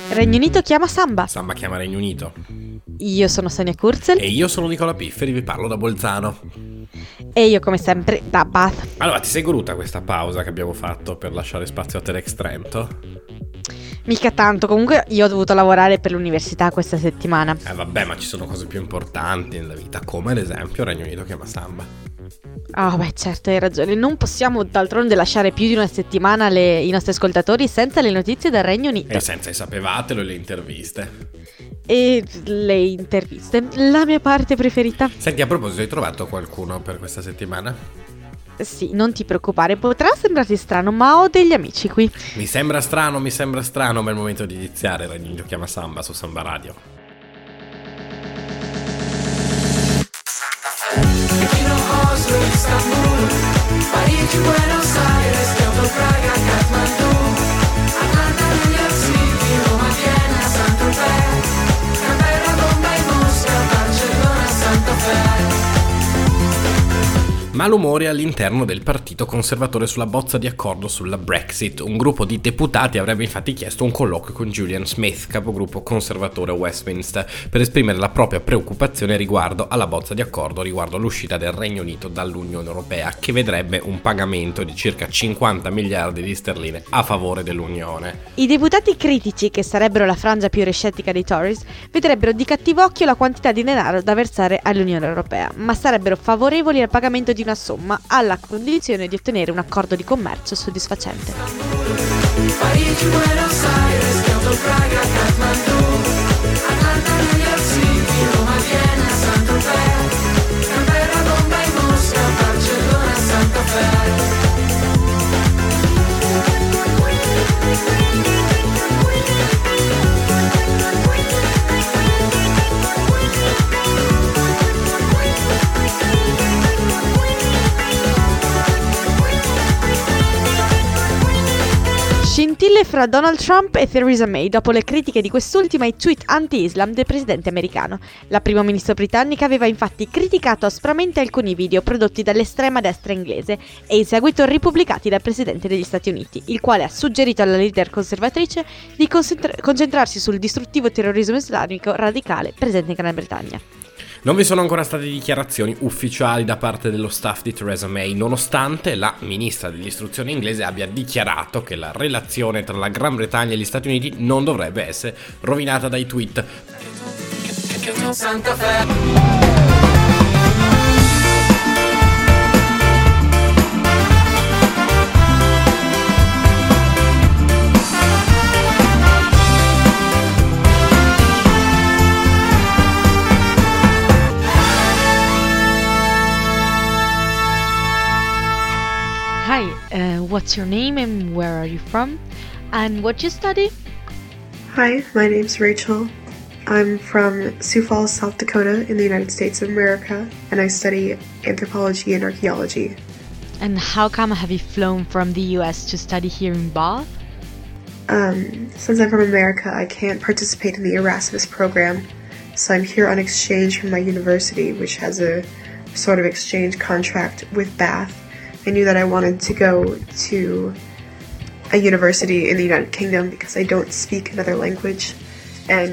Regno Unito chiama Samba. Samba chiama Regno Unito. Io sono Sonia Kurzel. E io sono Nicola Pifferi, vi parlo da Bolzano. E io come sempre da Bath. Allora, ti sei goduta questa pausa che abbiamo fatto per lasciare spazio a Telex Trento? Mica tanto, comunque io ho dovuto lavorare per l'università questa settimana. Vabbè, ma ci sono cose più importanti nella vita, come ad esempio Regno Unito chiama Samba. Oh beh, certo, hai ragione. Non possiamo d'altronde lasciare più di una settimana i nostri ascoltatori senza le notizie del Regno Unito. E senza i sapevatelo e le interviste. E le interviste, la mia parte preferita. Senti, a proposito, hai trovato qualcuno per questa settimana? Sì, non ti preoccupare, potrà sembrarti strano, ma ho degli amici qui. Mi sembra strano, ma è il momento di iniziare Regno Unito chiama Samba su Samba Radio. Istanbul, Parigi, Buenos Aires, Kyoto, Praga, Kathmandu, Atlanta, New York City, Roma, Vienna, Saint-Tropez, Canberra, Bombay, Mosca, Barcellona, Santa Fe. Malumori all'interno del partito conservatore sulla bozza di accordo sulla Brexit. Un gruppo di deputati avrebbe infatti chiesto un colloquio con Julian Smith, capogruppo conservatore a Westminster, per esprimere la propria preoccupazione riguardo alla bozza di accordo riguardo all'uscita del Regno Unito dall'Unione Europea, che vedrebbe un pagamento di circa 50 miliardi di sterline a favore dell'Unione. I deputati critici, che sarebbero la frangia più rescettica dei Tories, vedrebbero di cattivo occhio la quantità di denaro da versare all'Unione Europea, ma sarebbero favorevoli al pagamento di una somma alla condizione di ottenere un accordo di commercio soddisfacente. Parigi, Buenos Aires, Kyoto, Praga, Kathmandu, Atlanta, New York City, Roma, Vienna, Saint-Tropez, Canberra, Bombay, Mosca, Barcellona, Santa Fe. Scintille fra Donald Trump e Theresa May dopo le critiche di quest'ultima ai tweet anti-Islam del presidente americano. La prima ministra britannica aveva infatti criticato aspramente alcuni video prodotti dall'estrema destra inglese e in seguito ripubblicati dal presidente degli Stati Uniti, il quale ha suggerito alla leader conservatrice di concentrarsi sul distruttivo terrorismo islamico radicale presente in Gran Bretagna. Non vi sono ancora state dichiarazioni ufficiali da parte dello staff di Theresa May, nonostante la ministra dell'istruzione inglese abbia dichiarato che la relazione tra la Gran Bretagna e gli Stati Uniti non dovrebbe essere rovinata dai tweet. Santa Fe. Hi, what's your name and where are you from? And what you study? Hi, my name's Rachel. I'm from Sioux Falls, South Dakota in the United States of America, and I study anthropology and archaeology. And how come have you flown from the US to study here in Bath? Since I'm from America, I can't participate in the Erasmus program, so I'm here on exchange from my university, which has a sort of exchange contract with Bath. I knew that I wanted to go to a university in the United Kingdom because I don't speak another language, and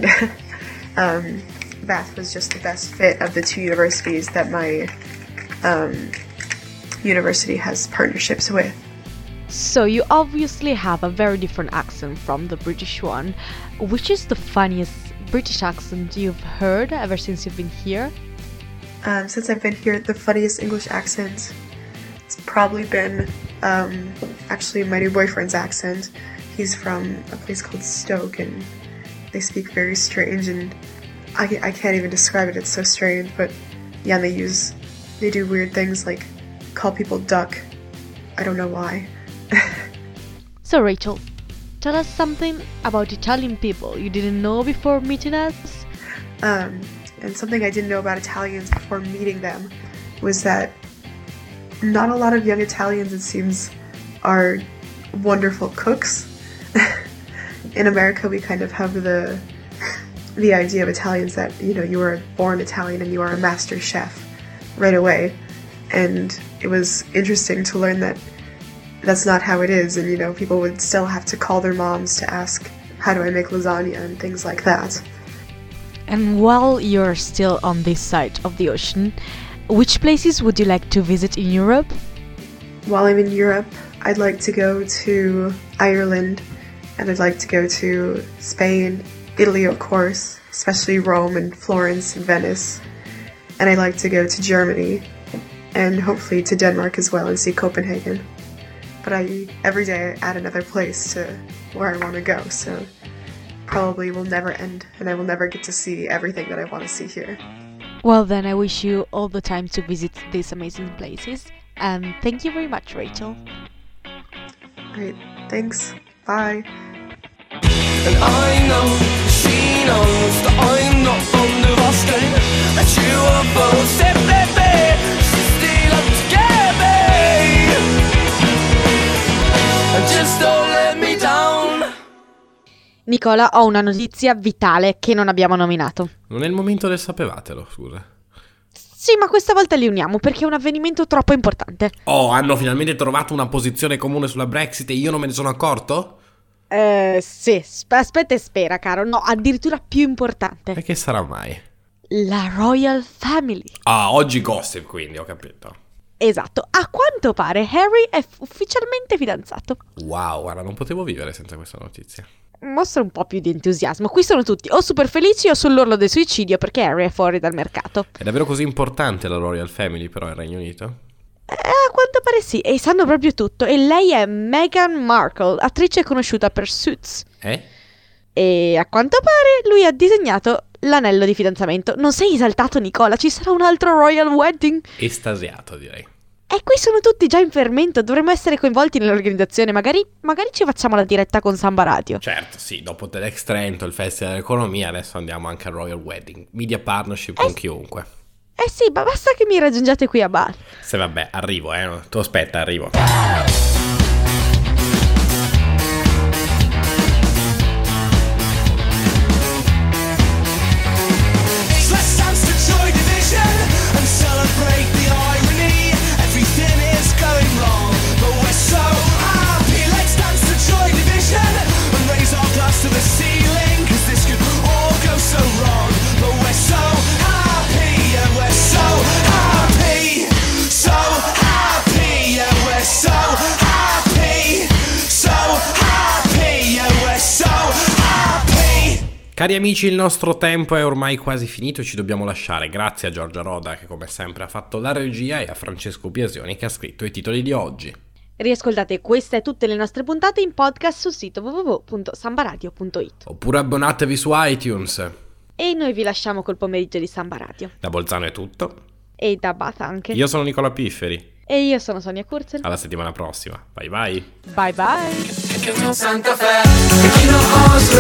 Bath was just the best fit of the two universities that my university has partnerships with. So you obviously have a very different accent from the British one. Which is the funniest British accent you've heard ever since you've been here? Since I've been here, the funniest English accent, it's probably been actually my new boyfriend's accent. He's from a place called Stoke, and they speak very strange, and I can't even describe it, it's so strange, but yeah, they do weird things like call people duck. I don't know why. So Rachel, tell us something about Italian people you didn't know before meeting us. And something I didn't know about Italians before meeting them was that not a lot of young Italians, it seems, are wonderful cooks. In America, we kind of have the idea of Italians that, you know, you are born Italian and you are a master chef right away. And it was interesting to learn that that's not how it is, and, you know, people would still have to call their moms to ask how do I make lasagna and things like that. And while you're still on this side of the ocean, which places would you like to visit in Europe? While I'm in Europe, I'd like to go to Ireland, and I'd like to go to Spain, Italy of course, especially Rome and Florence and Venice. And I'd like to go to Germany, and hopefully to Denmark as well and see Copenhagen. But every day I add another place to where I want to go, so probably will never end, and I will never get to see everything that I want to see here. Well, then I wish you all the time to visit these amazing places. And thank you very much, Rachel. Great, thanks, bye. And I know she knows that I'm not from the Boston, that you are both separate, still up together. And just don't let me down. Nicola, ho una notizia vitale che non abbiamo nominato. Non è il momento del sapevatelo, scusa. Sì, ma questa volta li uniamo perché è un avvenimento troppo importante. Oh, hanno finalmente trovato una posizione comune sulla Brexit e io non me ne sono accorto? Sì, aspetta e spera, caro. No, addirittura più importante. E che sarà mai? La Royal Family. Ah, oggi gossip, quindi, ho capito. Esatto, a quanto pare Harry è ufficialmente fidanzato. Wow, guarda, non potevo vivere senza questa notizia. Mostra un po' più di entusiasmo. Qui sono tutti o super felici o sull'orlo del suicidio perché Harry è fuori dal mercato. È davvero così importante la Royal Family però il Regno Unito? A quanto pare sì, e sanno proprio tutto. E lei è Meghan Markle, attrice conosciuta per Suits. E a quanto pare lui ha disegnato l'anello di fidanzamento. Non sei esaltato, Nicola? Ci sarà un altro Royal Wedding? Estasiato, direi. E qui sono tutti già in fermento, dovremmo essere coinvolti nell'organizzazione, magari ci facciamo la diretta con Samba Radio. Certo, sì, dopo TEDx Trento, il Festival dell'Economia, adesso andiamo anche al Royal Wedding. Media partnership con chiunque. Sì, ma basta che mi raggiungiate qui a Bali. Se vabbè, arrivo, tu aspetta, arrivo. Cari amici, il nostro tempo è ormai quasi finito e ci dobbiamo lasciare. Grazie a Giorgia Roda che come sempre ha fatto la regia e a Francesco Biasioni che ha scritto i titoli di oggi. Riascoltate queste e tutte le nostre puntate in podcast sul sito www.sambaradio.it. Oppure abbonatevi su iTunes. E noi vi lasciamo col pomeriggio di Samba Radio. Da Bolzano è tutto. E da Bath anche. Io sono Nicola Pifferi. E io sono Sonia Kurzel. Alla settimana prossima. Bye bye. Bye bye. Santa Fe, che chi non osa